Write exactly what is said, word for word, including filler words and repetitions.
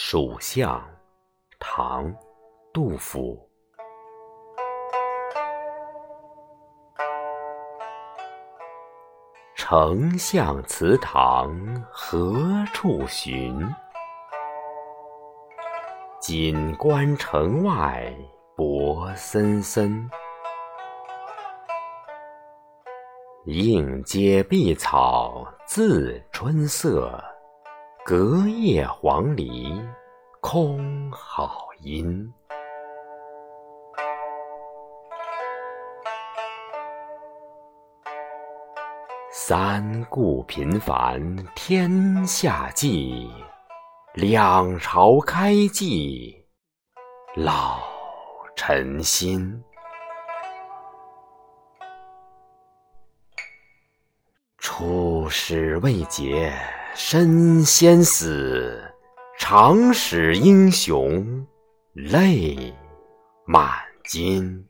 蜀相，唐·杜甫。丞相祠堂何处寻？锦官城外柏森森。映阶碧草自春色，隔叶黄鹂空好音。三顾频繁天下计，两朝开济老臣心。出使未捷身先死，长使英雄泪满襟。